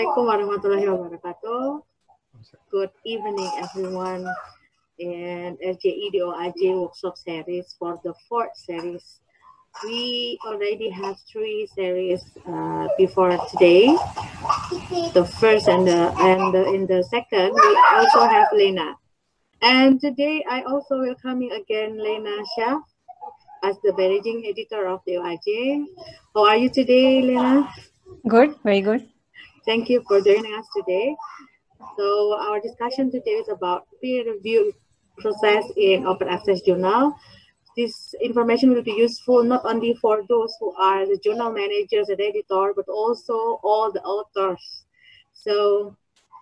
Assalamualaikum warahmatullahi wabarakatuh. Good evening, everyone. In LJEDOIJ workshop series for the fourth series. We already have 3 series before today. The first and in the second, we also have Lena. And today, I also welcoming again Lena Shah as the managing editor of the OIJ. How are you today, Lena? Good, very good. Thank you for joining us today. So our discussion today is about peer review process in open access journal. This information will be useful not only for those who are the journal managers and editor, but also all the authors. So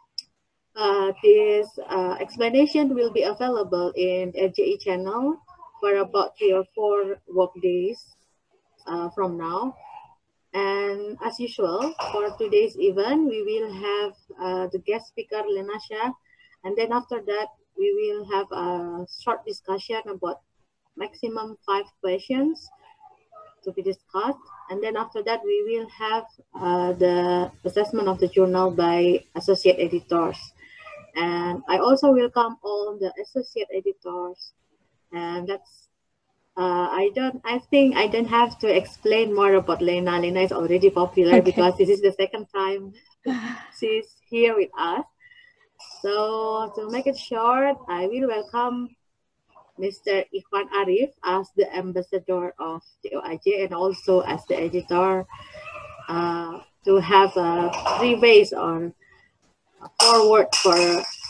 this explanation will be available in LJE channel for about 3 or 4 work days from now. And as usual, for today's event, we will have the guest speaker, Lena Shah. And then after that, we will have a short discussion about maximum 5 questions to be discussed. And then after that, we will have the assessment of the journal by associate editors. And I also welcome all the associate editors. And that's I think I don't have to explain more about Lena. Lena is already popular because this is the second time she's here with us. So to make it short, I will welcome Mr. Ikhwan Arif as the ambassador of the OIJ and also as the editor to have 3 ways or forward for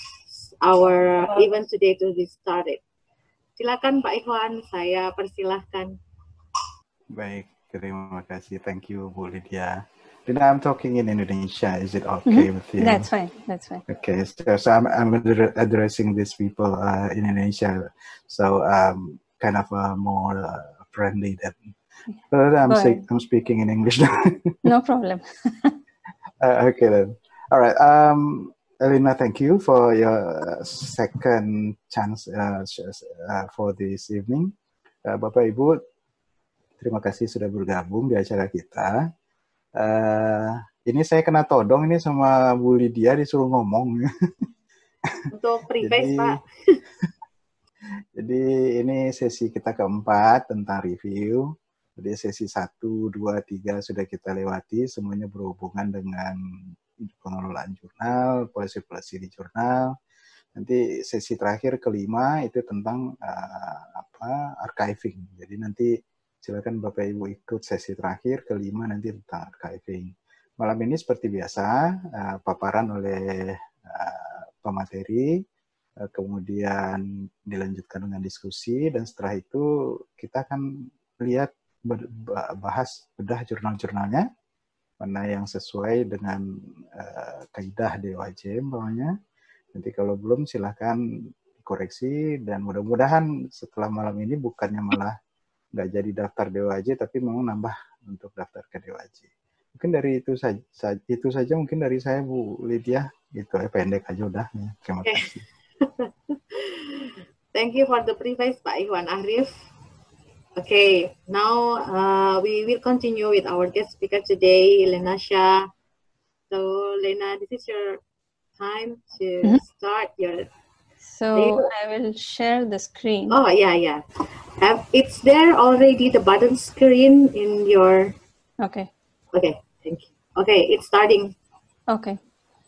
our event today to be started. Silakan Pak Ikhwan, saya persilahkan. Baik, terima kasih. Thank you, Bu Lydia. Then I'm talking in Indonesia. Is it okay with you? That's fine. That's fine. Okay, so I'm addressing these people in Indonesia. So kind of more friendly than. But I'm speaking in English now. No problem. Okay then. All right. Elena, thank you for your second chance for this evening. Bapak Ibu, terima kasih sudah bergabung di acara kita. Ini saya kena todong ini sama Bu Lydia disuruh ngomong. Untuk preface, Pak. Jadi ini sesi kita keempat tentang review. Jadi sesi 1, 2, 3 sudah kita lewati, semuanya berhubungan dengan pengelolaan jurnal, polisi-polisi di jurnal. Nanti sesi terakhir kelima itu tentang archiving. Jadi nanti silakan Bapak Ibu ikut sesi terakhir kelima nanti tentang archiving. Malam ini seperti biasa paparan oleh pemateri, kemudian dilanjutkan dengan diskusi dan setelah itu kita akan lihat bahas bedah jurnal-jurnalnya. Mana yang sesuai dengan kaidah DOIJ umpamanya. Nanti kalau belum silahkan koreksi dan mudah-mudahan setelah malam ini bukannya malah nggak jadi daftar DOIJ tapi mau nambah untuk daftar ke DOIJ. Mungkin dari itu saja mungkin dari saya Bu Lydia. Gitu pendek aja udah. Ya. Terima kasih. Thank you for the preface Pak Ikhwan Arif. Okay, now we will continue with our guest speaker today, Lena Shah. So, Lena, this is your time to start your... So, I will share the screen. Oh, yeah. It's there already, the button screen in your... Okay. Okay, thank you. Okay, it's starting. Okay.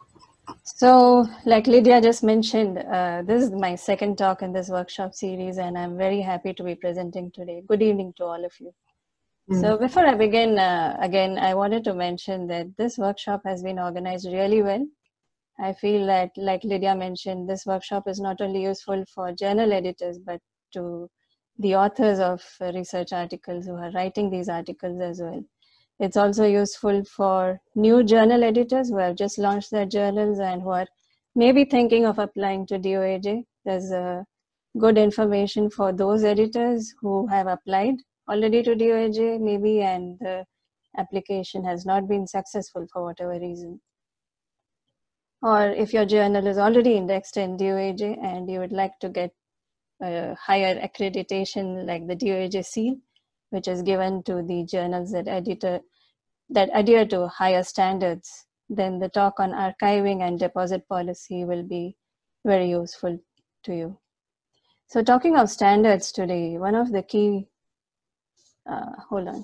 So, like Lydia just mentioned, this is my second talk in this workshop series, and I'm very happy to be presenting today. Good evening to all of you. So before I begin, again, I wanted to mention that this workshop has been organized really well. I feel that, like Lydia mentioned, this workshop is not only useful for journal editors, but to the authors of research articles who are writing these articles as well. It's also useful for new journal editors who have just launched their journals and who are maybe thinking of applying to DOAJ. There's good information for those editors who have applied already to DOAJ maybe and the application has not been successful for whatever reason. Or if your journal is already indexed in DOAJ and you would like to get a higher accreditation like the DOAJ seal, which is given to the journals that adhere to higher standards then the talk on archiving and deposit policy will be very useful to you. So talking of standards today, one of the key, hold on.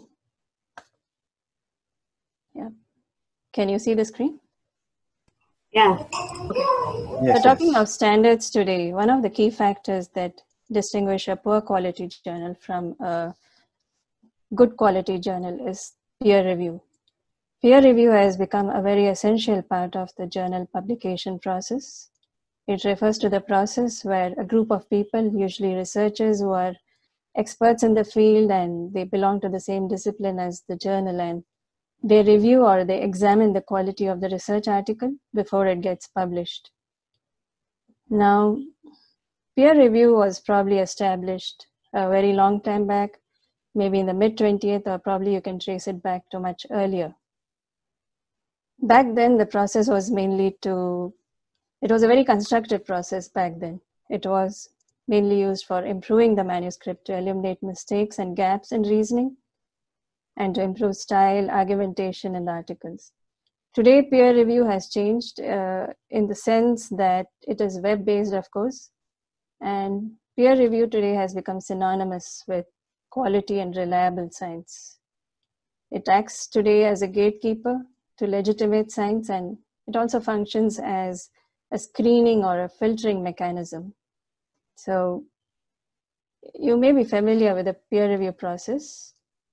Yeah. Can you see the screen? Yeah. Yes, So talking yes. of standards today, one of the key factors that distinguish a poor quality journal from a good quality journal is peer review. Peer review has become a very essential part of the journal publication process. It refers to the process where a group of people, usually researchers who are experts in the field and they belong to the same discipline as the journal, and they review or they examine the quality of the research article before it gets published. Now, peer review was probably established a very long time back, maybe in the mid-20th, or probably you can trace it back to much earlier. Back then, the process was mainly it was a very constructive process back then. It was mainly used for improving the manuscript to eliminate mistakes and gaps in reasoning and to improve style, argumentation, and articles. Today, peer review has changed in the sense that it is web-based, of course, and peer review today has become synonymous with quality and reliable science. It acts today as a gatekeeper to legitimate science, and it also functions as a screening or a filtering mechanism. So you may be familiar with the peer review process.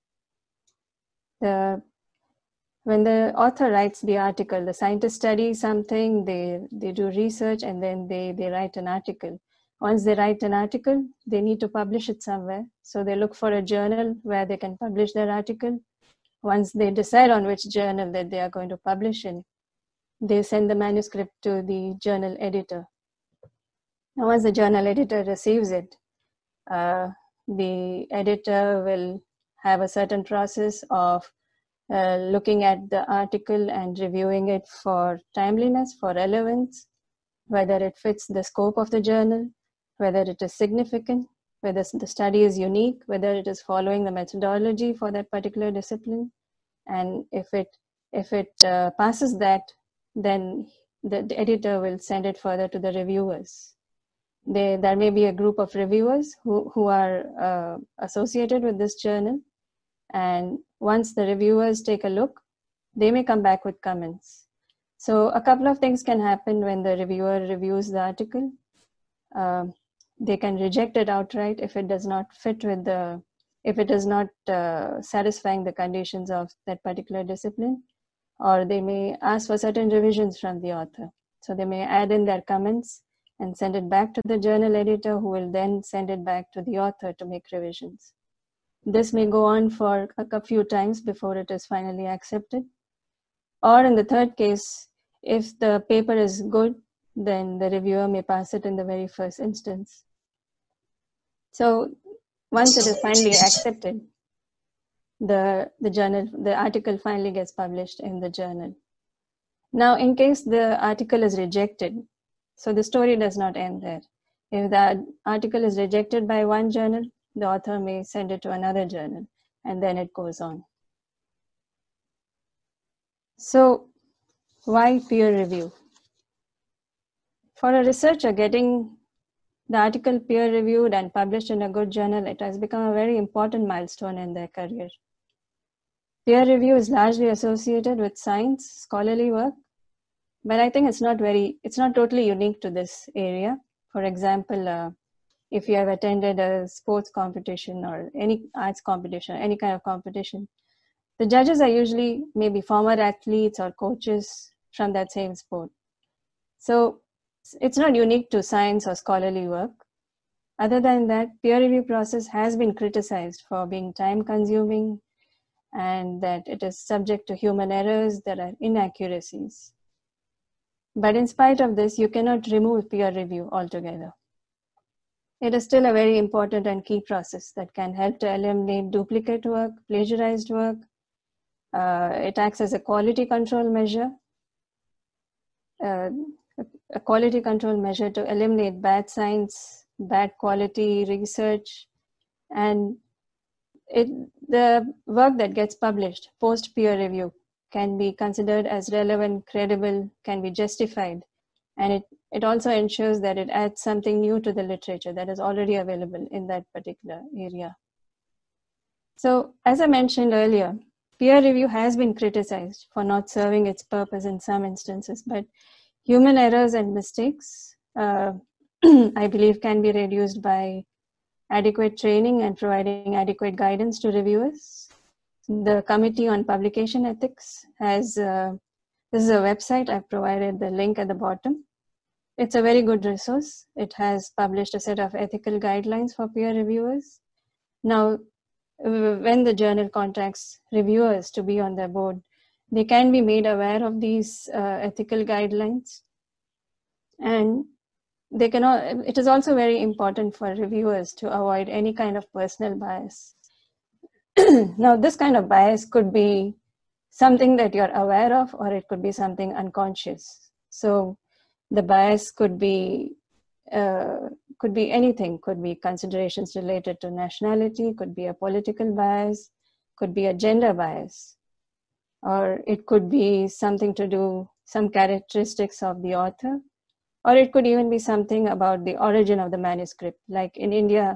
When the author writes the article, the scientists study something, they do research, and then they write an article. Once they write an article, they need to publish it somewhere. So they look for a journal where they can publish their article. Once they decide on which journal that they are going to publish in, they send the manuscript to the journal editor. Now, once the journal editor receives it, the editor will have a certain process of looking at the article and reviewing it for timeliness, for relevance, whether it fits the scope of the journal, whether it is significant, whether the study is unique, whether it is following the methodology for that particular discipline. And if it passes that, then the editor will send it further to the reviewers. There may be a group of reviewers who are associated with this journal. And once the reviewers take a look, they may come back with comments. So a couple of things can happen when the reviewer reviews the article. They can reject it outright if it does not fit with if it is not satisfying the conditions of that particular discipline, or they may ask for certain revisions from the author. So they may add in their comments and send it back to the journal editor, who will then send it back to the author to make revisions. This may go on for a few times before it is finally accepted. Or in the third case, if the paper is good, then the reviewer may pass it in the very first instance. So once it is finally accepted, the article finally gets published in the journal. Now, in case the article is rejected, so the story does not end there. If the article is rejected by one journal, the author may send it to another journal, and then it goes on. So why peer review? For a researcher, getting the article peer reviewed and published in a good journal, it has become a very important milestone in their career. Peer review is largely associated with science, scholarly work, but I think it's not totally unique to this area. For example, if you have attended a sports competition or any arts competition, any kind of competition, the judges are usually maybe former athletes or coaches from that same sport. So it's not unique to science or scholarly work. Other than that, peer review process has been criticized for being time consuming and that it is subject to human errors, there are inaccuracies. But in spite of this, you cannot remove peer review altogether. It is still a very important and key process that can help to eliminate duplicate work, plagiarized work. It acts as a quality control measure, a quality control measure to eliminate bad science, bad quality research, and the work that gets published post peer review can be considered as relevant, credible, can be justified. And it also ensures that it adds something new to the literature that is already available in that particular area. So as I mentioned earlier, peer review has been criticized for not serving its purpose in some instances, but human errors and mistakes, I believe, can be reduced by adequate training and providing adequate guidance to reviewers. The Committee on Publication Ethics has, this is a website, I've provided the link at the bottom. It's a very good resource. It has published a set of ethical guidelines for peer reviewers. Now, when the journal contacts reviewers to be on their board, they can be made aware of these ethical guidelines. And they cannot, it is also very important for reviewers to avoid any kind of personal bias. Now, this kind of bias could be something that you're aware of, or it could be something unconscious. So the bias could be anything, could be considerations related to nationality, could be a political bias, could be a gender bias, or it could be something to do, some characteristics of the author, or it could even be something about the origin of the manuscript. Like in India,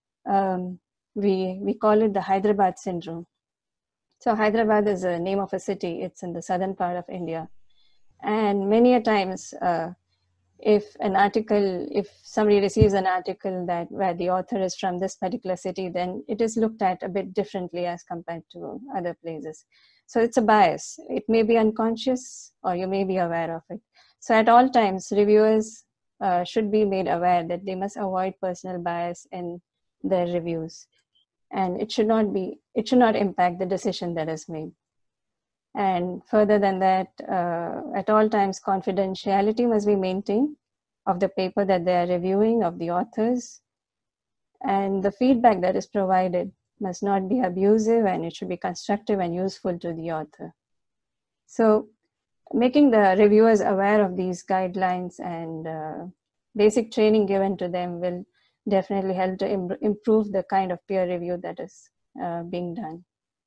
we call it the Hyderabad syndrome. So Hyderabad is a name of a city. It's in the southern part of India. And many a times, if somebody receives an article where the author is from this particular city, then it is looked at a bit differently as compared to other places. So it's a bias. It may be unconscious, or you may be aware of it. So at all times, reviewers should be made aware that they must avoid personal bias in their reviews. And it should not impact the decision that is made. And further than that, at all times, confidentiality must be maintained of the paper that they are reviewing, of the authors. And the feedback that is provided must not be abusive, and it should be constructive and useful to the author. So making the reviewers aware of these guidelines and basic training given to them will definitely help to improve the kind of peer review that is being done.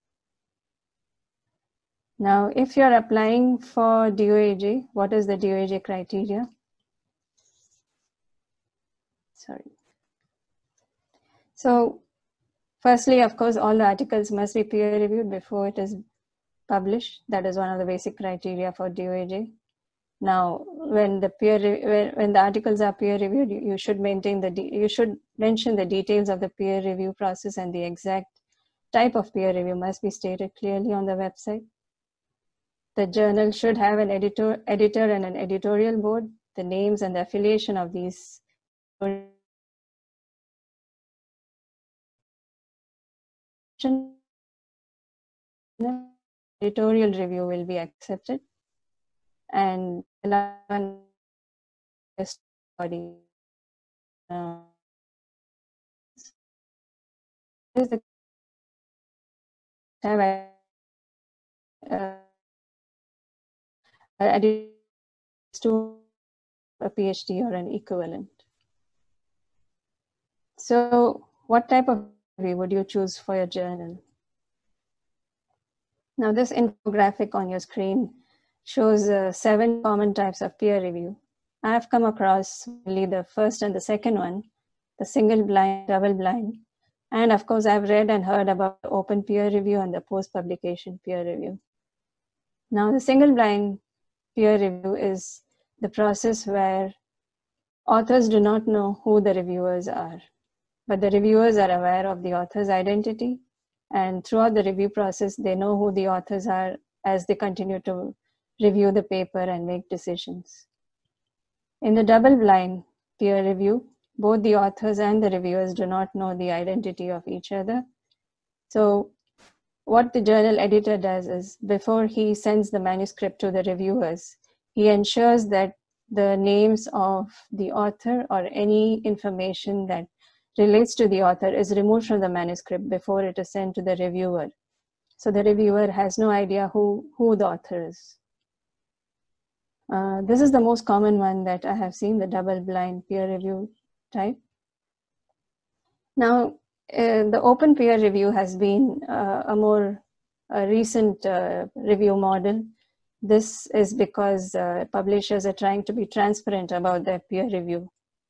Now, if you're applying for DOAJ, what is the DOAJ criteria? Sorry. So, firstly, of course, all the articles must be peer reviewed before it is published. That is one of the basic criteria for DOAJ. Now, when the articles are peer reviewed, you should mention the details of the peer review process, and the exact type of peer review must be stated clearly on the website. The journal should have an editor and an editorial board. The names and the affiliation of these editorial review will be accepted, and body is the to a PhD or an equivalent. So what type of review would you choose for your journal? Now this infographic on your screen shows 7 common types of peer review. I have come across only the first and the second one, the single blind, double blind. And of course, I've read and heard about open peer review and the post-publication peer review. Now the single blind peer review is the process where authors do not know who the reviewers are, but the reviewers are aware of the author's identity, and throughout the review process, they know who the authors are as they continue to review the paper and make decisions. In the double-blind peer review, both the authors and the reviewers do not know the identity of each other. So what the journal editor does is, before he sends the manuscript to the reviewers, he ensures that the names of the author or any information that relates to the author is removed from the manuscript before it is sent to the reviewer. So the reviewer has no idea who the author is. This is the most common one that I have seen, the double-blind peer review type. Now, the open peer review has been a more a recent review model. This is because publishers are trying to be transparent about their peer review.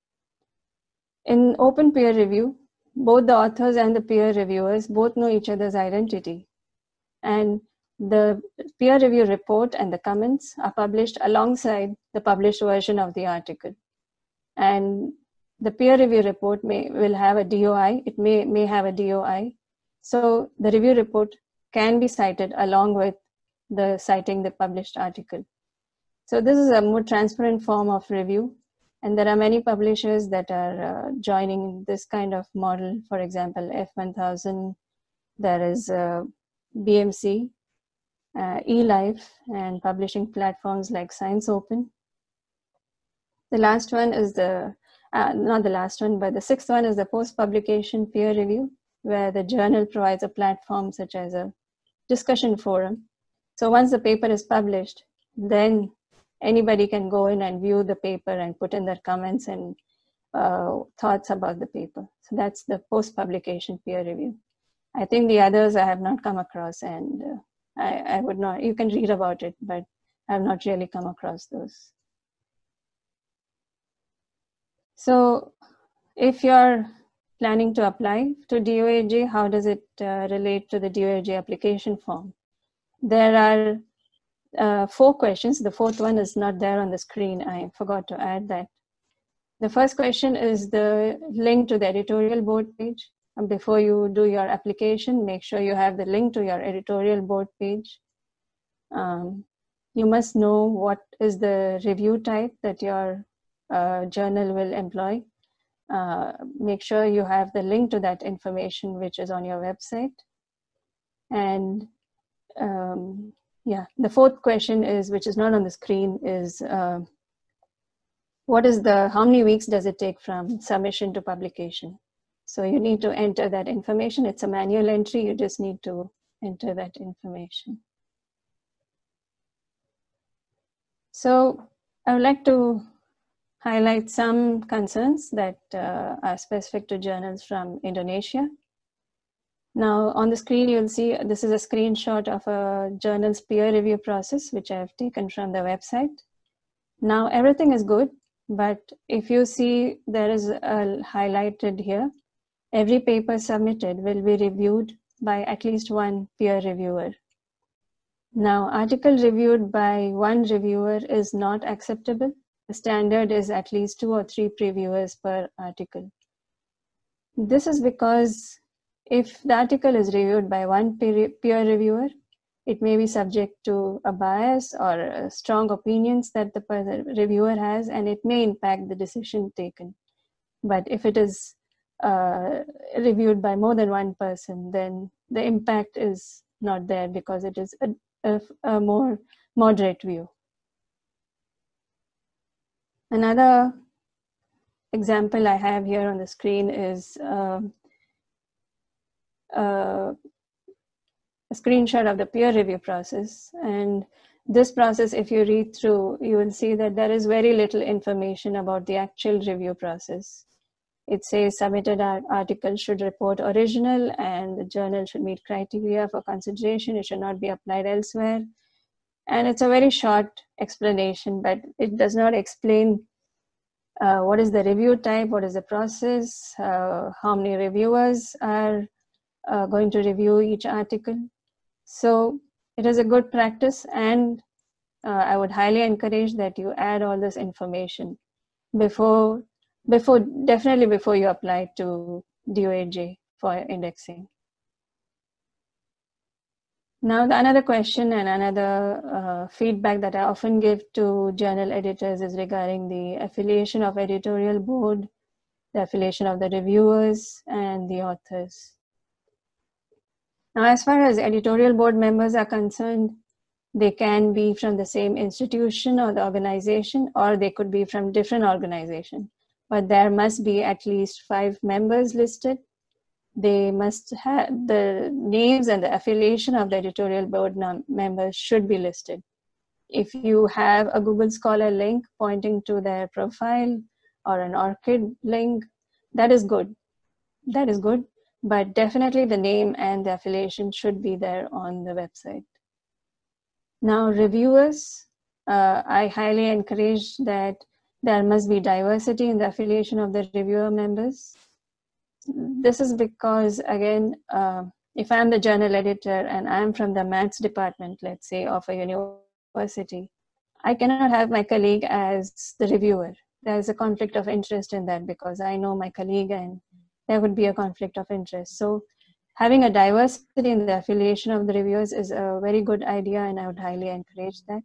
In open peer review, both the authors and the peer reviewers both know each other's identity. And the peer review report and the comments are published alongside the published version of the article. And the peer review report will have a DOI, it may have a DOI. So the review report can be cited along with citing the published article. So this is a more transparent form of review. And there are many publishers that are joining this kind of model. For example, F1000, there is BMC, eLife, and publishing platforms like Science Open. The last one is not the last one, but the sixth one is the post-publication peer review, where the journal provides a platform such as a discussion forum. So once the paper is published, then anybody can go in and view the paper and put in their comments and thoughts about the paper. So that's the post-publication peer review. I think the others I have not come across, and I would not, you can read about it, but I have not really come across those. So if you're planning to apply to DOAJ, how does it relate to the DOAJ application form? There are 4 questions. The 4th one is not there on the screen. I forgot to add that. The first question is the link to the editorial board page. And before you do your application, make sure you have the link to your editorial board page. You must know what is the review type that your journal will employ. Make sure you have the link to that information which is on your website. And yeah, the 4th question is, which is not on the screen, is how many weeks does it take from submission to publication? So you need to enter that information. It's a manual entry. You just need to enter that information. So I would like to highlight some concerns that are specific to journals from Indonesia. Now on the screen, you'll see this is a screenshot of a journal's peer review process, which I've taken from the website. Now everything is good, but if you see there is highlighted here, every paper submitted will be reviewed by at least one peer reviewer. Now, article reviewed by one reviewer is not acceptable. The standard is at least 2 or 3 reviewers per article. This is because if the article is reviewed by one peer reviewer, it may be subject to a bias or strong opinions that the reviewer has, and it may impact the decision taken. But if it is reviewed by more than one person, then the impact is not there because it is a more moderate view. Another example I have here on the screen is a screenshot of the peer review process. And this process, if you read through, you will see that there is very little information about the actual review process. It says submitted article should report original and the journal should meet criteria for consideration. It should not be applied elsewhere. And it's a very short explanation, but it does not explain what is the review type, what is the process, how many reviewers are going to review each article. So it is a good practice, and I would highly encourage that you add all this information definitely before you apply to DOAJ for indexing. Now, another question and another feedback that I often give to journal editors is regarding the affiliation of editorial board, the affiliation of the reviewers, and the authors. Now, as far as editorial board members are concerned, they can be from the same institution or the organization, or they could be from different organizations. But there must be at least 5 members listed. They must have the names and the affiliation of the editorial board members should be listed. If you have a Google Scholar link pointing to their profile or an ORCID link, that is good. That is good. but definitely the name and the affiliation should be there on the website. Now, reviewers, I highly encourage that there must be diversity in the affiliation of the reviewer members. This is because, again, if I'm the journal editor and I'm from the maths department, let's say, of a university, I cannot have my colleague as the reviewer. There's a conflict of interest in that because I know my colleague and there would be a conflict of interest. So having a diversity in the affiliation of the reviewers is a very good idea, and I would highly encourage that.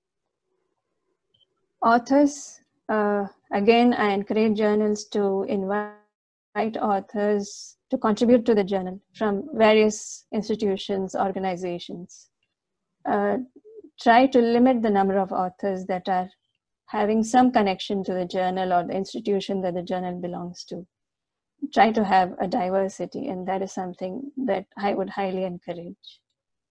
Authors, again, I encourage journals to invite authors to contribute to the journal from various institutions, organizations. Try to limit the number of authors that are having some connection to the journal or the institution that the journal belongs to. Try to have a diversity, and that is something that I would highly encourage.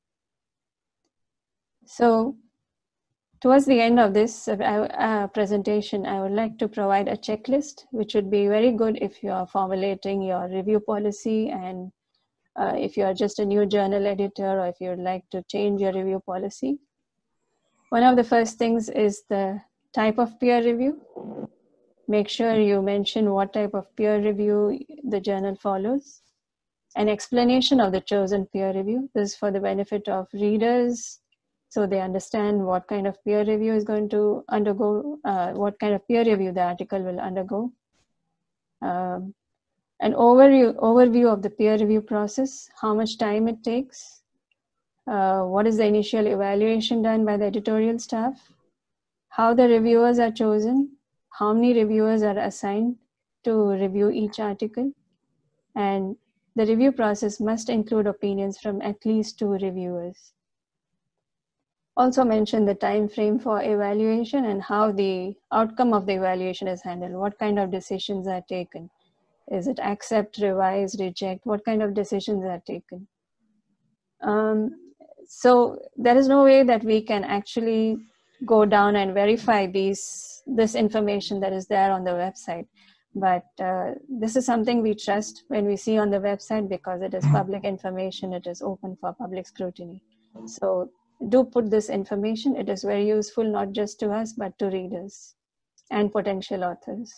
So towards the end of this presentation, I would like to provide a checklist, which would be very good if you are formulating your review policy, and if you are just a new journal editor, or if you would like to change your review policy. One of the first things is the type of peer review. Make sure you mention what type of peer review the journal follows. An explanation of the chosen peer review. This is for the benefit of readers, so they understand what kind of peer review is going to undergo, what kind of peer review the article will undergo. An overview of the peer review process, how much time it takes, what is the initial evaluation done by the editorial staff, how the reviewers are chosen, how many reviewers are assigned to review each article, and the review process must include opinions from at least 2 reviewers. Also mention the time frame for evaluation and how the outcome of the evaluation is handled. What kind of decisions are taken? Is it accept, revise, reject? What kind of decisions are taken? So there is no way that we can actually go down and verify this information that is there on the website. But this is something we trust when we see on the website, because it is public information, it is open for public scrutiny. So do put this information. It is very useful, not just to us, but to readers and potential authors.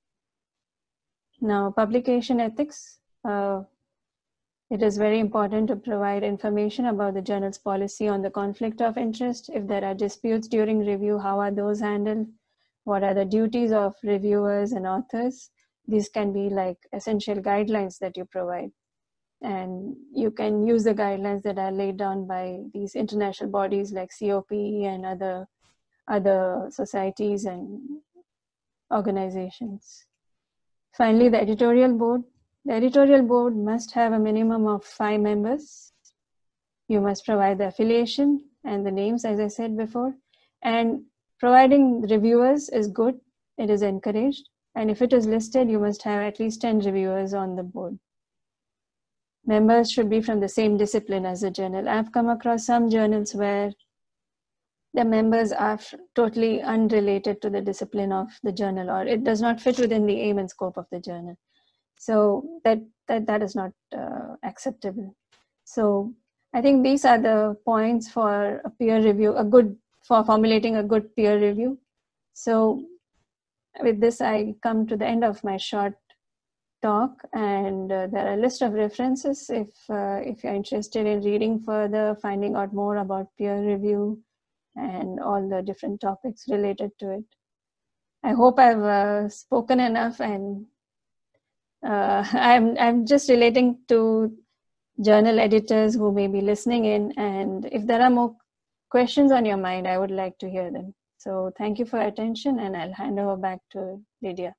Now, publication ethics. It is very important to provide information about the journal's policy on the conflict of interest. If there are disputes during review, how are those handled? What are the duties of reviewers and authors? These can be like essential guidelines that you provide. And you can use the guidelines that are laid down by these international bodies like COPE and other societies and organizations. Finally, the editorial board. The editorial board must have a minimum of 5 members. You must provide the affiliation and the names, as I said before. And providing reviewers is good. It is encouraged. And if it is listed, you must have at least 10 reviewers on the board. Members should be from the same discipline as the journal. I've come across some journals where the members are totally unrelated to the discipline of the journal, or it does not fit within the aim and scope of the journal. So that is not acceptable. So I think these are the points for a peer review, for formulating a good peer review. So with this, I come to the end of my short talk, and there are a list of references if you're interested in reading further, finding out more about peer review and all the different topics related to it. I hope I've spoken enough, and I'm just relating to journal editors who may be listening in, and if there are more questions on your mind, I would like to hear them. So thank you for your attention, and I'll hand over back to Lydia.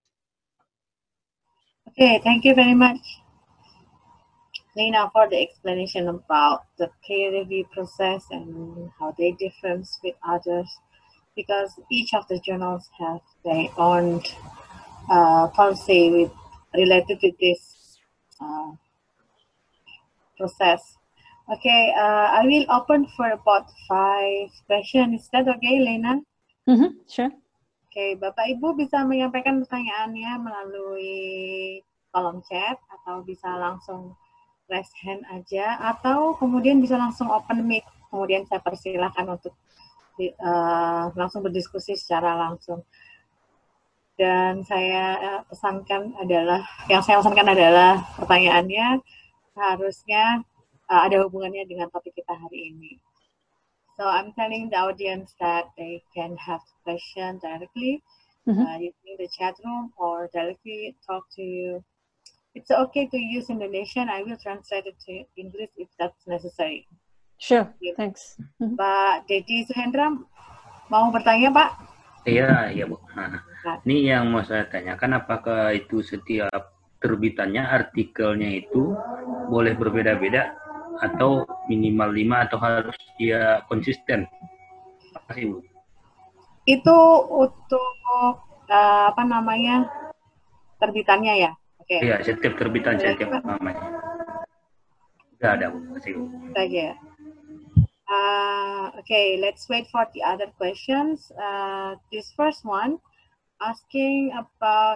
Okay, thank you very much, Lena, for the explanation about the peer review process and how they differ with others, because each of the journals have their own policy related to this process. Okay, I will open for about 5 questions. Is that okay, Lena? Sure. Okay, Bapak Ibu bisa menyampaikan pertanyaannya melalui kolom chat atau bisa langsung raise hand aja, atau kemudian bisa langsung open mic, kemudian saya persilahkan untuk langsung berdiskusi secara langsung. Dan saya pesankan adalah, yang saya pesankan adalah pertanyaannya harusnya ada hubungannya dengan topik kita hari ini. So I'm telling the audience that they can have question directly using the chat room or directly talk to you. It's okay to use Indonesian. I will translate it to English if that's necessary. Sure, thanks. Pak Dedi Suhendra mau bertanya, Pak? Iya, Bu. Nah, ini yang mau saya tanyakan, apakah itu setiap terbitannya, artikelnya itu boleh berbeda-beda atau minimal 5 atau harus dia konsisten? Terima kasih, Bu. Itu untuk terbitannya ya? Oke. Iya, setiap terbitan, setiap namanya. Tidak ada, Bu. Terima kasih, Bu. Saja. Okay, let's wait for the other questions. This first one, asking about,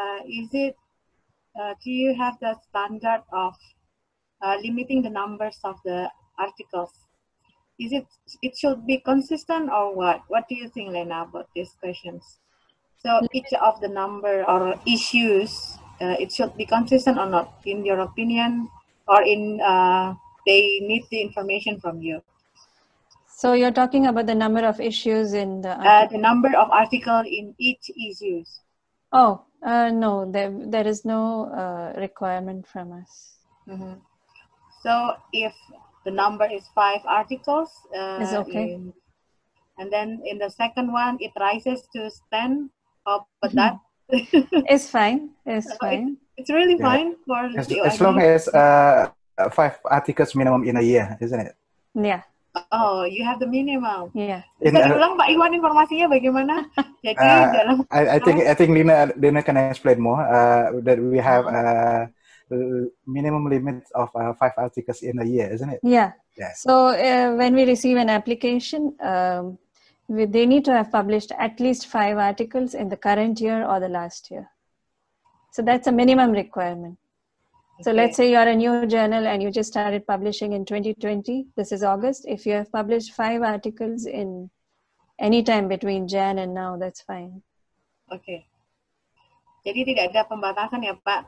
do you have the standard of limiting the numbers of the articles? It should be consistent or what? What do you think, Lena, about these questions? So each of the number or issues, it should be consistent or not, in your opinion, or they need the information from you? So you're talking about the number of issues in the the number of articles in each issues. Oh, no, there is no requirement from us. So if the number is 5 articles, is okay. And then in the second one, it rises to 10, but that it's fine. It's fine. It's really fine for as long as 5 articles minimum in a year, isn't it? Yeah. Oh, you have the minimum. Yeah. Bisa diulang Pak Iwan informasinya bagaimana? Jadi dalam I think Lina can explain more. That we have minimum limit of 5 articles in a year, isn't it? Yeah. Yes. So when we receive an application, they need to have published at least 5 articles in the current year or the last year. So that's a minimum requirement. So let's say you're a new journal and you just started publishing in 2020. This is August. If you have published 5 articles in any time between Jan and now, that's fine. Okay. Jadi tidak ada pembatasan ya Pak.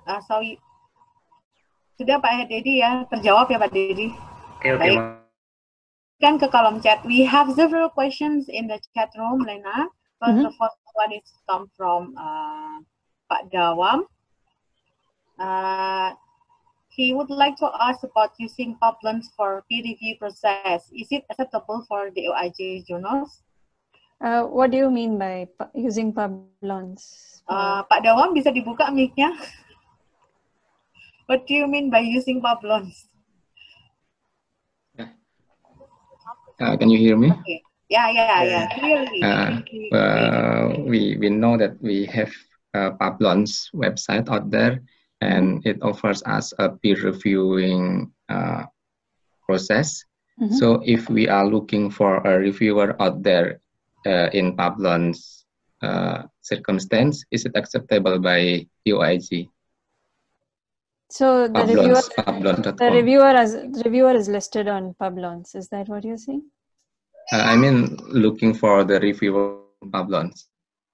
Sudah Pak Dedi ya, terjawab ya Pak Dedi. Baik. Kan ke kolom chat. We have several questions in the chat room, Lena. The first one is come from Pak Dawam. He would like to ask about using Publons for peer review process. Is it acceptable for the OIJ journals? What do you mean by using Publons? Pak Dawam bisa dibuka mic-nya? What do you mean by using Publons? Can you hear me? Okay. Yeah. Clearly. We know that we have Publons website out there. And it offers us a peer reviewing process. So if we are looking for a reviewer out there in Publons circumstance, is it acceptable by UIG? So the Publons.com. reviewer is listed on Publons. Is that what you're saying? I mean, looking for the reviewer Publons.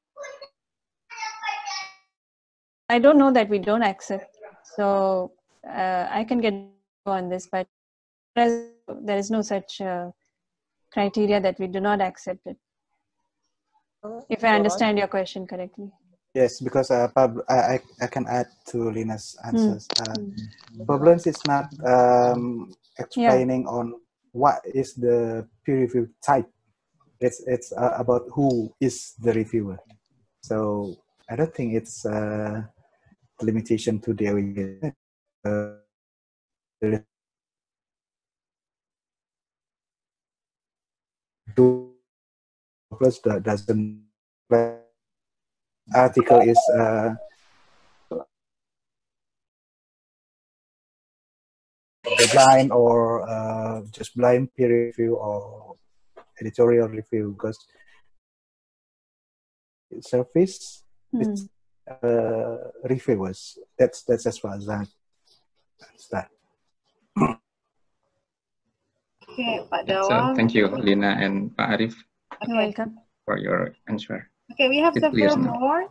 I don't know that we don't accept, so I can get on this, but there is no such criteria that we do not accept it. If I understand your question correctly. Yes, because I can add to Lina's answers. Publons is not explaining on what is the peer review type. It's about who is the reviewer. So I don't think it's limitation to the plus doesn't article is blind or just blind peer review or editorial review, because service it's reviewers. That's as far as Start. Okay, Pak So Dawang. thank you, Lina and Pak Arif. You're welcome. For your answer. Okay, we have It clears several now. more.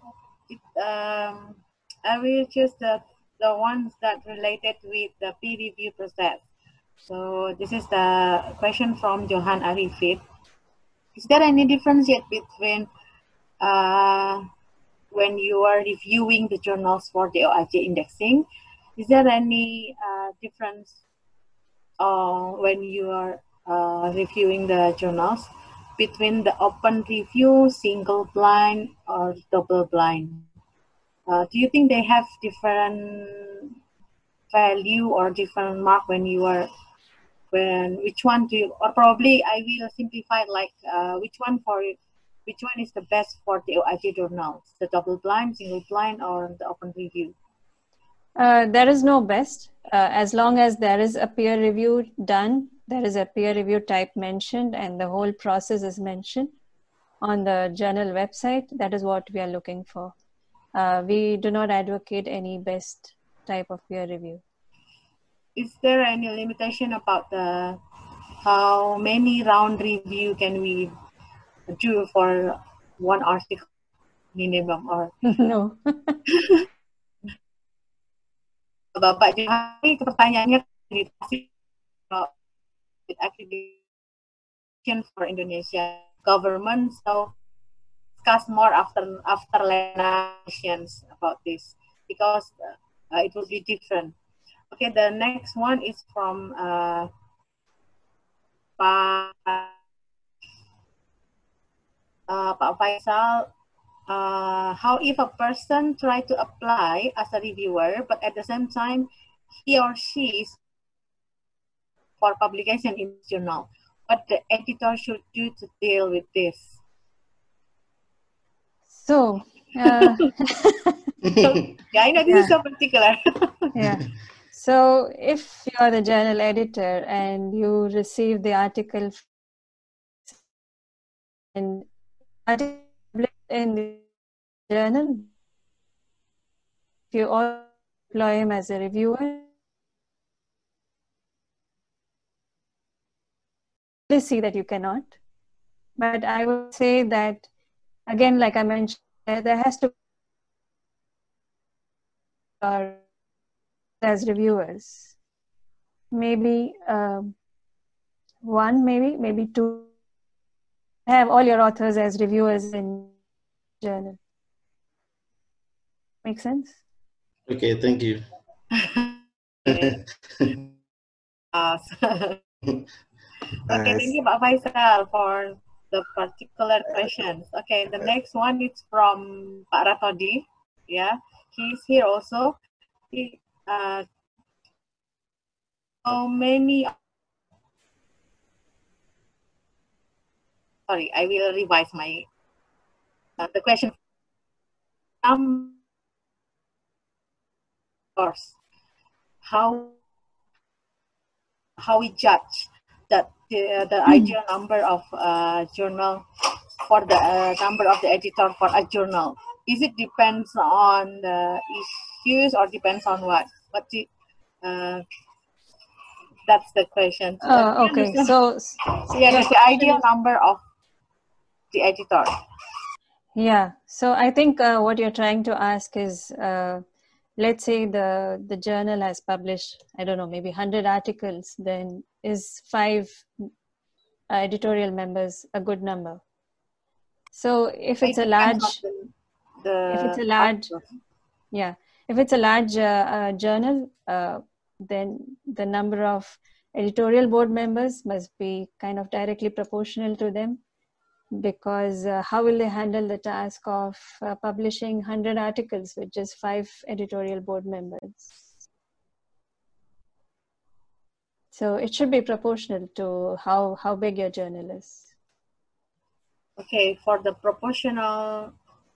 I will choose the ones that related with the peer review process. So this is the question from Johan Arifit. Is there any difference yet between when you are reviewing the journals for the OIJ indexing? Is there any difference when you are reviewing the journals between the open review, single blind, or double blind? Do you think they have different value or different mark when you are, which one do you, or probably I will simplify it like which one is the best for the OIJ journals, the double blind, single blind, or the open review? There is no best. As long as there is a peer review done, there is a peer review type mentioned, and the whole process is mentioned on the journal website. That is what we are looking for. We do not advocate any best type of peer review. Is there any limitation about the how many round review can we do for one article minimum, or No. Bapak Johari pertanyaannya accreditation for Indonesia government, so discuss more after nations about this, because it will be different. Okay, the next one is from Pak Faisal. How if a person try to apply as a reviewer, but at the same time he or she is for publication in journal? What the editor should do to deal with this? So, yeah, I know this is so particular. Yeah. So if you are the journal editor and you receive the article and article in the journal, if you all employ him as a reviewer, please see that you cannot. But I would say that, again, like I mentioned, there has to be as reviewers. Maybe one, maybe two. Have all your authors as reviewers in journal. Make sense? Okay, thank you. Okay, thank you, Pak Faisal, for the particular questions. Okay, the next one is from Pak Ratodi. Yeah, he's here also. How many? Sorry, I will revise my the question. Course, how we judge that the ideal number of journal for the number of the editor for a journal? Is it depends on the issues or depends on what? That's the question. Okay, so yeah, that's the ideal number of the editor. Yeah, so I think what you're trying to ask is, let's say the journal has published, I don't know, maybe 100 articles, then is 5 editorial members a good number? So if it's a large, if it's a large journal, then the number of editorial board members must be kind of directly proportional to them, because how will they handle the task of publishing 100 articles with just 5 editorial board members? So it should be proportional to how big your journal is. Okay, for the proportional,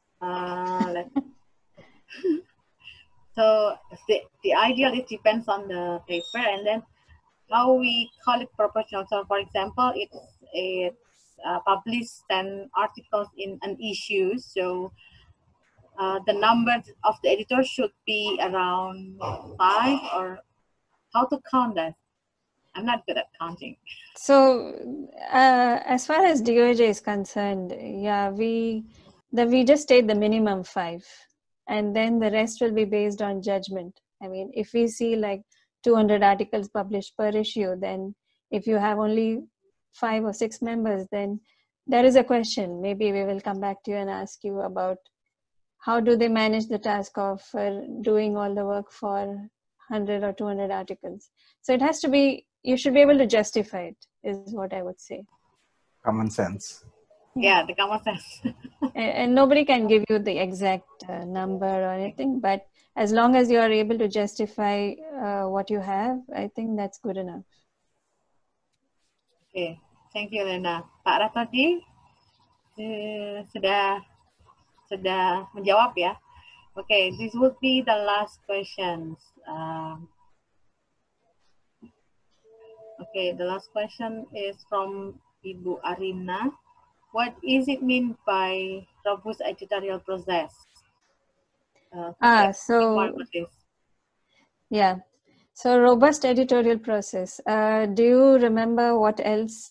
so the ideal, it depends on the paper, and then how we call it proportional. So for example, it's published 10 articles in an issue, so the number of the editor should be around 5 or how to count that? I'm not good at counting. So as far as DOJ is concerned, yeah, we just state the minimum 5, and then the rest will be based on judgment. I mean, if we see like 200 articles published per issue, then if you have only 5 or 6 members, then there is a question. Maybe we will come back to you and ask you about how do they manage the task of doing all the work for 100 or 200 articles. So it has to be, you should be able to justify it, is what I would say. Common sense. Yeah, the common sense. And nobody can give you the exact number or anything, but as long as you are able to justify what you have, I think that's good enough. Okay, thank you, Lena. Pak Ratodi sudah menjawab ya. Okay, this would be the last questions. Okay, the last question is from Ibu Arina. What is it mean by robust editorial process? Yeah. So robust editorial process. Do you remember what else?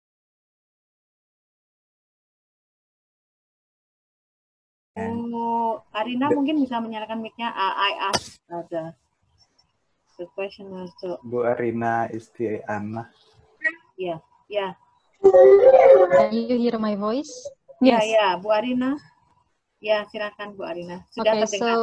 Arina mungkin bisa menyalakan mic-nya. I asked the question also. Bu Arina Istiana. Yeah, yeah. Can you hear my voice? Yes. Yeah, Bu Arina. Ya, silakan Bu Arina. Sudah terdengar.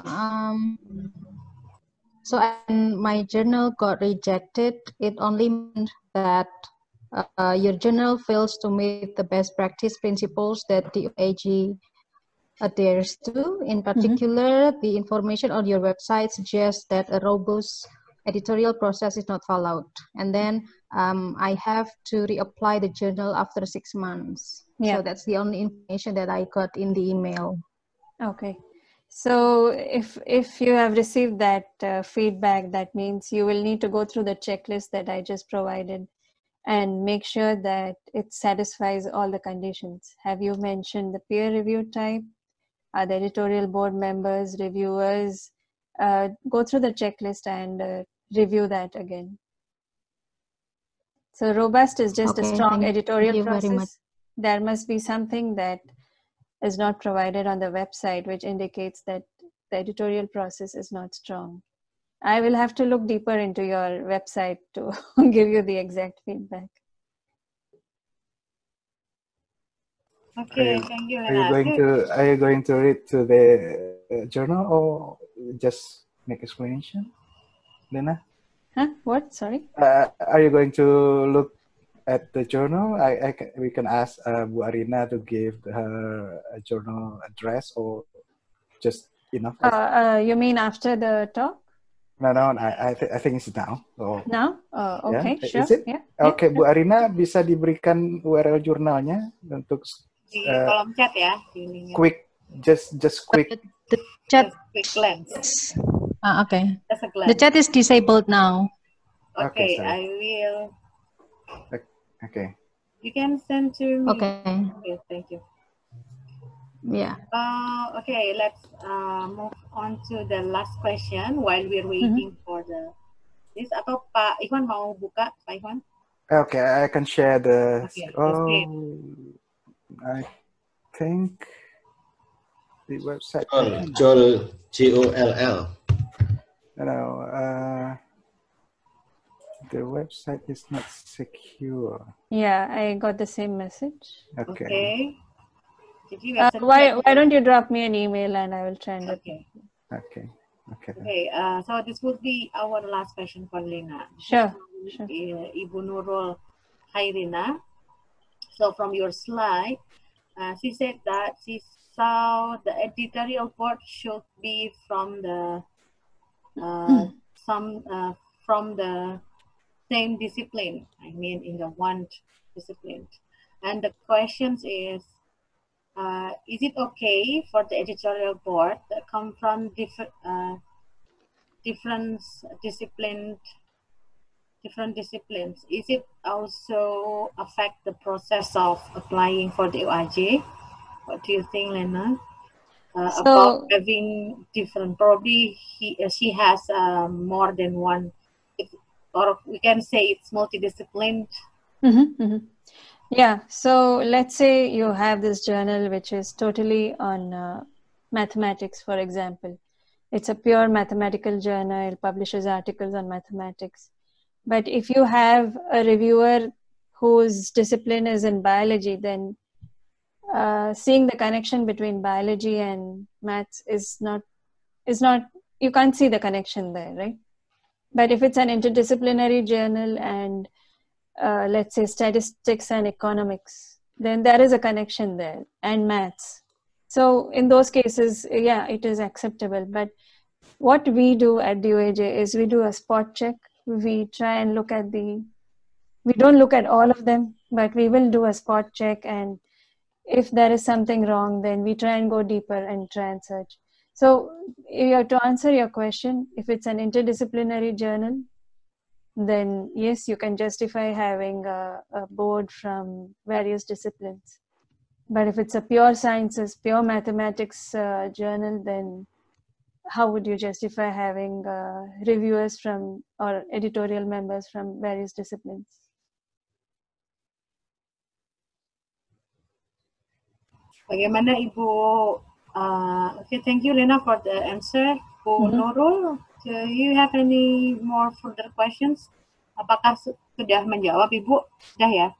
So my journal got rejected. It only meant that your journal fails to meet the best practice principles that the OAG adheres to. In particular, the information on your website suggests that a robust editorial process is not followed. And then I have to reapply the journal after 6 months. Yeah. So that's the only information that I got in the email. Okay. So if you have received that feedback, that means you will need to go through the checklist that I just provided and make sure that it satisfies all the conditions. Have you mentioned the peer review type? Are the editorial board members, reviewers? Go through the checklist and review that again. So robust is just a strong editorial process. There must be something that is not provided on the website, which indicates that the editorial process is not strong. I will have to look deeper into your website to give you the exact feedback. Okay, thank you. Are you going to read to the journal or just make explanation, Lena? Huh? What? Sorry. Are you going to look at the journal? We can ask Bu Arina to give her a journal address or just enough. You mean after the talk? No, I think it's now. So, now? Okay, yeah. Sure. Is it? Yeah. Okay, Bu Arina bisa diberikan URL jurnalnya untuk di kolom chat ya. Quick, just quick. The chat. Just quick glance. Okay. Just a glance. The chat is disabled now. Okay, I will. Okay. You can send to me. Okay. Okay, thank you. Yeah. Okay, let's move on to the last question while we're waiting for this. Atau Pak Ikhwan mau buka, Pak Ikhwan? Okay, I can share the. Okay, I think the website. Joll, Joll. No, the website is not secure. Yeah, I got the same message. Okay. Why don't you drop me an email and I will try and Okay. So this would be our last question for Lena. Sure. Ibu Nurul Hairina. So from your slide, she said that she saw the editorial board should be from the from the same discipline. I mean, in the one discipline. And the question is it okay for the editorial board that come from different disciplines? Is it also affect the process of applying for the OAG? What do you think, Lena? About having different, probably she has more than one. or we can say it's multidisciplinary. Yeah, so let's say you have this journal which is totally on mathematics, for example. It's a pure mathematical journal, it publishes articles on mathematics. But if you have a reviewer whose discipline is in biology, then seeing the connection between biology and maths is not, you can't see the connection there, right? But if it's an interdisciplinary journal and let's say statistics and economics, then there is a connection there, and maths. So in those cases, yeah, it is acceptable. But what we do at DOAJ is we do a spot check. We try and look at we don't look at all of them, but we will do a spot check. And if there is something wrong, then we try and go deeper and try and search. So to answer your question, if it's an interdisciplinary journal, then yes, you can justify having a board from various disciplines. But if it's a pure sciences, pure mathematics journal, then how would you justify having reviewers from or editorial members from various disciplines? Bagaimana Ibu? Okay, thank you Lena for the answer. Bu Nurul, do you have any more further questions? Apakah sudah menjawab Ibu? Sudah ya?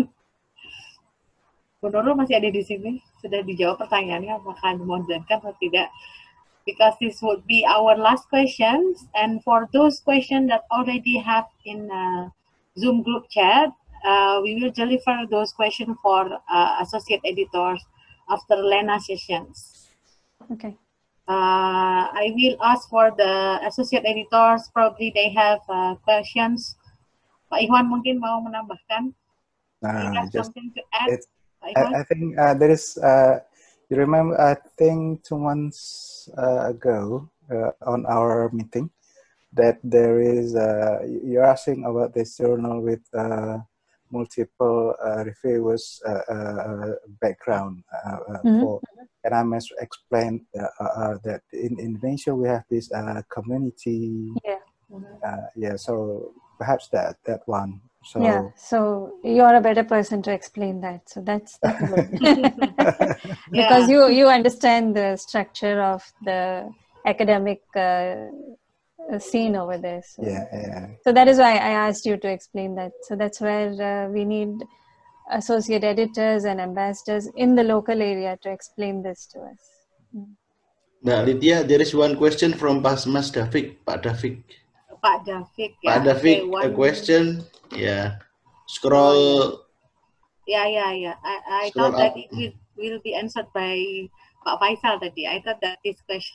Bu Nurul masih ada di sini? Sudah dijawab pertanyaannya apakah dimodalkan atau tidak? Because this would be our last questions, and for those questions that already have in Zoom group chat, we will deliver those questions for associate editors after Lena sessions. Okay. I will ask for the associate editors, probably they have questions. Pak Iwan mungkin mau menambahkan? You have something to add? I think there is, you remember, I think 2 months ago on our meeting, that there is, you're asking about this journal with multiple reviewers background for, and I must explain that in Indonesia we have this community. Yeah, so perhaps that one. So, yeah, so you're a better person to explain that. So that's good. Because you understand the structure of the academic scene over there. So. Yeah. So that is why I asked you to explain that. So that's where we need associate editors and ambassadors in the local area to explain this to us. Nah, Lydia, there is one question from Mas David, Pak David. Pak David, Pak David, a question. Yeah, scroll. Yeah. I thought that it will be answered by Pak Faisal tadi. I thought that this question.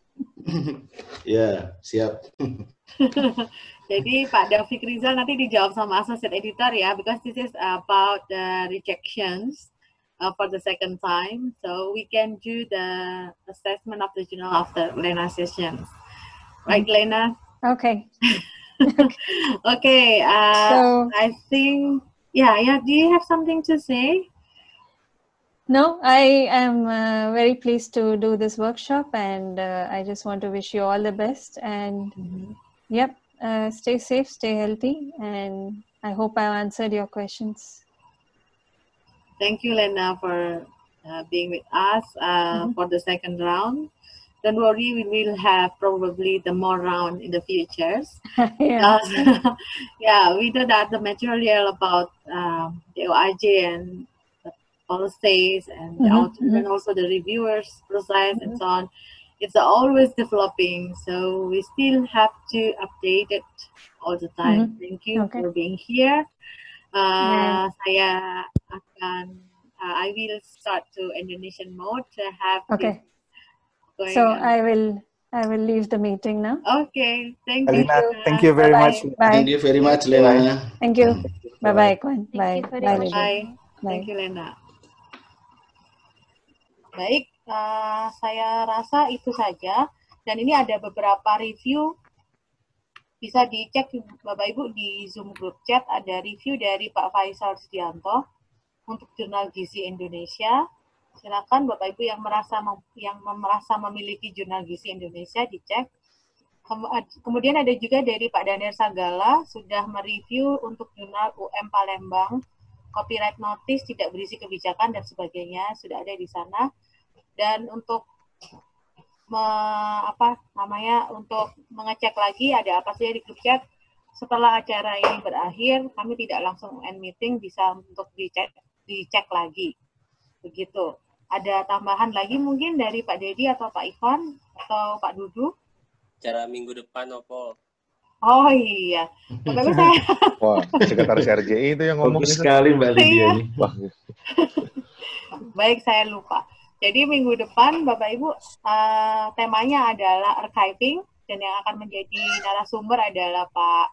Ya, siap. Jadi Pak David Rizal nanti dijawab sama associate editor ya, because this is about the rejections for the second time. So we can do the assessment of the journal after Lena sessions. Right, Lena? Okay. Okay, so I think, yeah, do you have something to say? No, I am very pleased to do this workshop, and I just want to wish you all the best, and yep, stay safe, stay healthy, and I hope I answered your questions. Thank you, Lena, for being with us for the second round. Don't worry, we will have probably the more round in the futures. Yeah. Yeah, we know that the material about the OIJ and the policies and and also the reviewers process and so on, it's always developing. So we still have to update it all the time. Thank you for being here. Saya akan, I will start to Indonesian mode to have. Okay. So I will leave the meeting now. Okay, thank you. Thank you very much. Thank you very much, Lena. Thank you. Bye-bye, Kwan. Bye. Bye. Thank you, Lena. Baik, saya rasa itu saja. Dan ini ada beberapa review. Bisa dicek Bapak Ibu di Zoom group chat, ada review dari Pak Faisal Sudianto untuk Jurnal Gizi Indonesia. Silakan Bapak Ibu yang merasa memiliki Jurnal Gizi Indonesia dicek. Kemudian ada juga dari Pak Daniel Sagala, sudah mereview untuk jurnal UM Palembang, copyright notice tidak berisi kebijakan dan sebagainya, sudah ada di sana. Dan untuk untuk mengecek lagi ada apa saja di grup chat, setelah acara ini berakhir, kami tidak langsung end meeting, bisa untuk dicek lagi. Begitu. Ada tambahan lagi mungkin dari Pak Dedi atau Pak Ivan atau Pak Dudu? Acara minggu depan, Opo. Oh iya. Bapak saya. Wah, sekretaris RJI itu yang ngomong. Bagus sekali Mbak Lydia ini. Wah. Baik, saya lupa. Jadi minggu depan Bapak Ibu temanya adalah archiving dan yang akan menjadi narasumber adalah Pak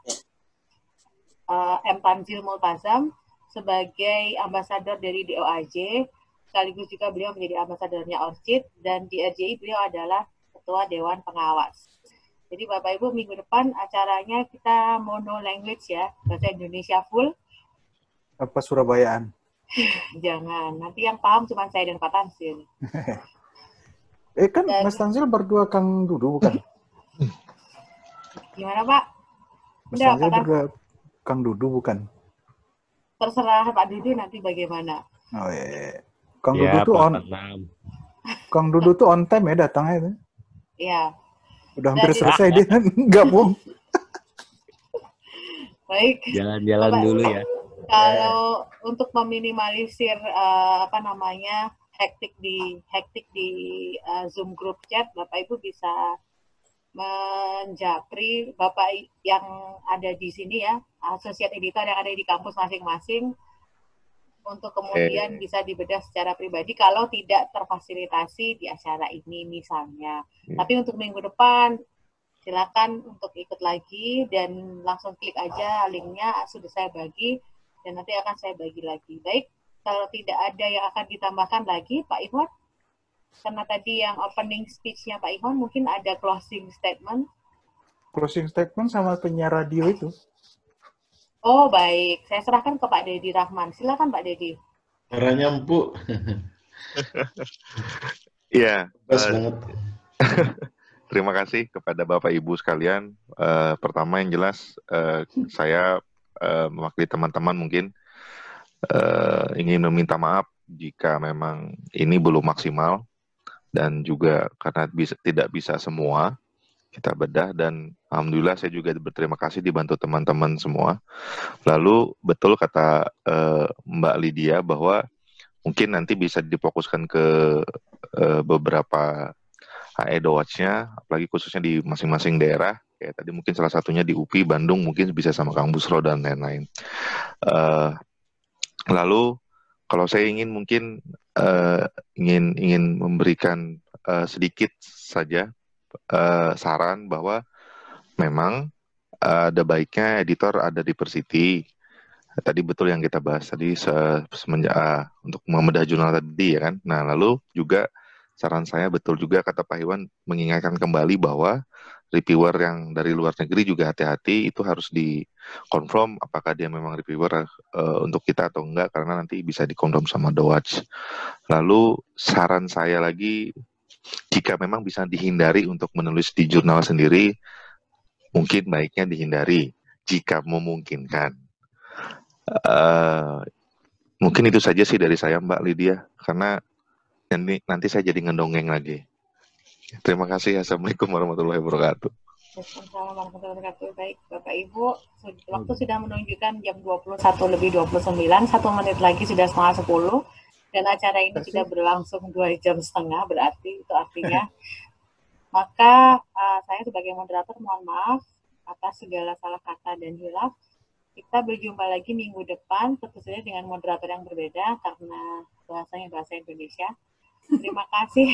M. Tanzil Multazam sebagai ambasador dari DOAJ, sekaligus juga beliau menjadi ambasadornya ORCID, dan di RJI beliau adalah Ketua Dewan Pengawas. Jadi Bapak Ibu minggu depan acaranya kita mono language ya, bahasa Indonesia full. Apa Surabayaan? Jangan, nanti yang paham cuma saya dan Pak Tanzil. Kan Mas Tanzil berdua Kang Dudu bukan? Gimana Pak? Mas Tanzil berdua Kang Dudu bukan? Terserah Pak Dudu nanti bagaimana. Oh iya. Kang Dudu tuh Kang Dudu tuh on time ya datangnya itu. Iya. Udah hampir selesai dia gabung. Baik. Jalan-jalan dulu ya. Kalau untuk meminimalisir hektik di Zoom group chat, Bapak Ibu bisa menjapri Bapak yang ada di sini ya, associate editor yang ada di kampus masing-masing, untuk kemudian bisa dibedah secara pribadi kalau tidak terfasilitasi di acara ini misalnya. Tapi untuk minggu depan silakan untuk ikut lagi dan langsung klik aja linknya, sudah saya bagi dan nanti akan saya bagi lagi. Baik, kalau tidak ada yang akan ditambahkan lagi Pak Iwan, karena tadi yang opening speech-nya Pak Iwan, mungkin ada closing statement. Closing statement sama penyiar radio itu. Oh baik, saya serahkan ke Pak Dedi Rahman. Silakan Pak Dedi. Caranya empuk. Iya. Banget. Terima kasih kepada Bapak Ibu sekalian. Pertama yang jelas, saya mewakili teman-teman mungkin ingin meminta maaf jika memang ini belum maksimal, dan juga karena tidak bisa semua kita bedah, dan alhamdulillah saya juga berterima kasih dibantu teman-teman semua. Lalu betul kata Mbak Lydia bahwa mungkin nanti bisa difokuskan ke beberapa HE Watch-nya, apalagi khususnya di masing-masing daerah. Kayak tadi mungkin salah satunya di UPI, Bandung mungkin bisa sama Kang Busro dan lain-lain. Lalu kalau saya ingin mungkin ingin memberikan sedikit saja saran bahwa memang ada baiknya editor ada di Persiti. Tadi betul yang kita bahas tadi semenjak untuk membedah jurnal tadi ya kan. Nah lalu juga saran saya betul juga kata Pak Iwan mengingatkan kembali bahwa reviewer yang dari luar negeri juga hati-hati, itu harus dikonfirm apakah dia memang reviewer untuk kita atau enggak, karena nanti bisa dikonfirm sama The Watch. Lalu saran saya lagi, jika memang bisa dihindari untuk menulis di jurnal sendiri, mungkin baiknya dihindari jika memungkinkan. Mungkin itu saja sih dari saya Mbak Lydia, karena nanti saya jadi ngedongeng lagi. Terima kasih. Assalamualaikum warahmatullahi wabarakatuh. Assalamualaikum warahmatullahi wabarakatuh. Baik, Bapak Ibu, waktu sudah menunjukkan jam 21 lebih 29, 1 menit lagi sudah 9:30, dan acara ini sudah berlangsung 2 jam setengah, berarti itu artinya. Maka saya sebagai moderator mohon maaf atas segala salah kata dan hilaf. Kita berjumpa lagi minggu depan, tentu saja dengan moderator yang berbeda karena bahasanya bahasa Indonesia. Terima kasih.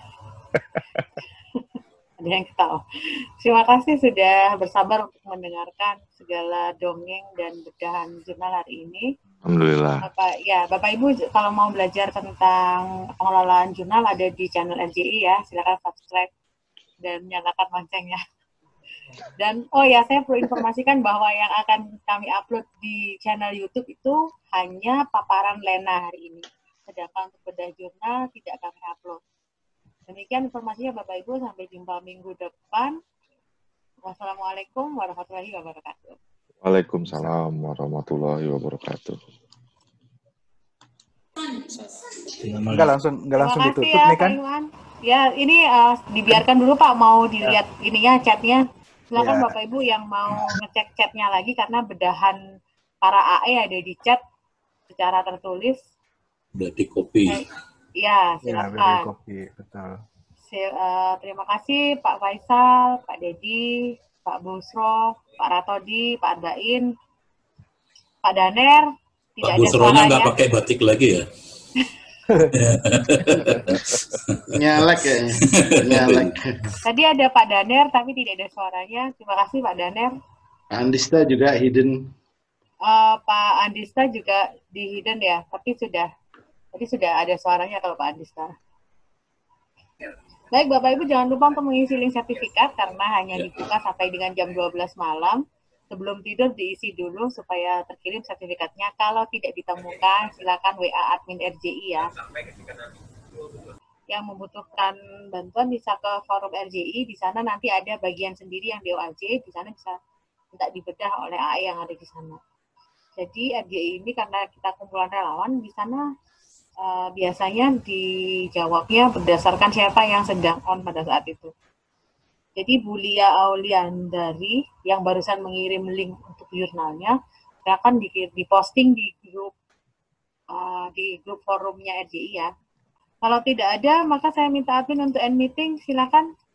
Ada yang ketawa. Terima kasih sudah bersabar untuk mendengarkan segala dongeng dan bedahan jurnal hari ini. Alhamdulillah. Bapak Ibu kalau mau belajar tentang pengelolaan jurnal ada di channel RJI ya. Silakan subscribe dan nyalakan loncengnya. Dan saya perlu informasikan bahwa yang akan kami upload di channel YouTube itu hanya paparan Lena hari ini. Sedangkan untuk bedah jurnal tidak kami upload. Demikian informasinya Bapak Ibu, sampai jumpa minggu depan. Wassalamualaikum warahmatullahi wabarakatuh. Waalaikumsalam warahmatullahi wabarakatuh. Nggak langsung ditutup ya, nih kan? Pak Iwan. Ya, ini dibiarkan dulu Pak, mau dilihat ininya chatnya. Silakan Bapak Ibu yang mau ngecek chatnya lagi karena bedahan para AE ada di chat secara tertulis. Udah di copy. Ya, silakan. Copy, betul. Terima kasih Pak Faisal, Pak Dedi, Pak Busro, Pak Ratodi, Pak Arbain, Pak Daner. Pak Busronya nggak pakai batik lagi ya? Nyalek ya. Nyalek. Tadi ada Pak Daner tapi tidak ada suaranya. Terima kasih Pak Daner. Pak Andista juga hidden. Pak Andista juga di hidden ya, tapi sudah ada suaranya kalau Pak Andista. Baik Bapak Ibu, jangan lupa untuk mengisi link sertifikat karena hanya dibuka sampai dengan jam 12 malam. Sebelum tidur diisi dulu supaya terkirim sertifikatnya. Kalau tidak ditemukan, silakan WA admin RJI ya. Yang membutuhkan bantuan bisa ke forum RJI. Di sana nanti ada bagian sendiri yang DOAJ. Di sana bisa minta dibedah oleh AE yang ada di sana. Jadi RJI ini karena kita kumpulan relawan, di sana biasanya dijawabnya berdasarkan siapa yang sedang on pada saat itu. Jadi Bu Lia Auliandari yang barusan mengirim link untuk jurnalnya akan diposting di grup forumnya RJI ya. Kalau tidak ada, maka saya minta admin untuk end meeting. Silakan